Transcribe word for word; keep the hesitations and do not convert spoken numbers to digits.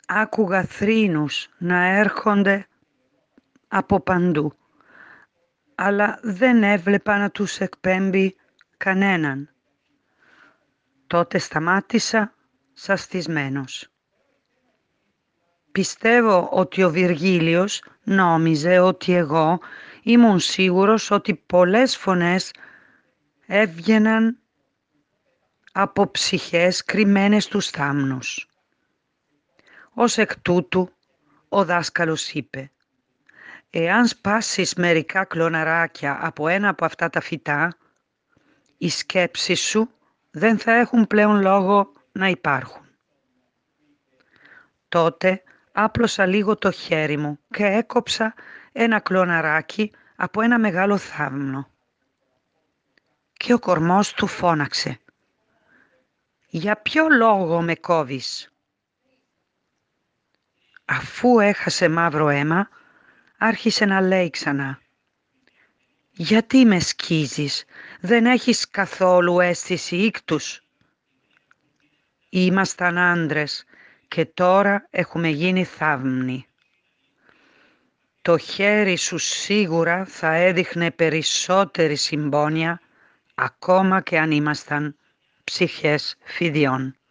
Άκουγα θρήνους να έρχονται από παντού, αλλά δεν έβλεπα να τους εκπέμπει κανέναν. Τότε σταμάτησα σαστισμένος. Πιστεύω ότι ο Βυργίλιος νόμιζε ότι εγώ ήμουν σίγουρος ότι πολλές φωνές έβγαιναν από ψυχές κρυμμένες στους θάμνους. Ως εκ τούτου, ο δάσκαλος είπε: «Εάν σπάσεις μερικά κλωναράκια από ένα από αυτά τα φυτά, οι σκέψεις σου δεν θα έχουν πλέον λόγο να υπάρχουν». Τότε άπλωσα λίγο το χέρι μου και έκοψα ένα κλωναράκι από ένα μεγάλο θάμνο. Και ο κορμός του φώναξε: «Για ποιο λόγο με κόβεις?» Αφού έχασε μαύρο αίμα, άρχισε να λέει ξανά: «Γιατί με σκίζεις, δεν έχεις καθόλου αίσθηση ίκτους?» Ήμασταν άντρες και τώρα έχουμε γίνει θαύμνοι. Το χέρι σου σίγουρα θα έδειχνε περισσότερη συμπόνια, ακόμα και αν ήμασταν ψυχές φιδιών.